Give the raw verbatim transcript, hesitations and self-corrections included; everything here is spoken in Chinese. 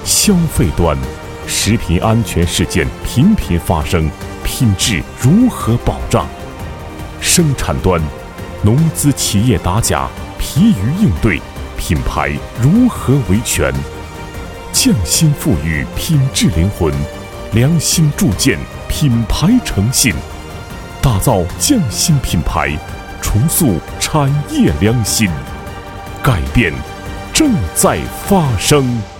消费端，食品安全事件频频发生，品质如何保障？生产端，农资企业打假，疲于应对，品牌如何维权？匠心赋予品质灵魂，良心铸建品牌诚信，打造匠心品牌，重塑产业良心，改变正在发生。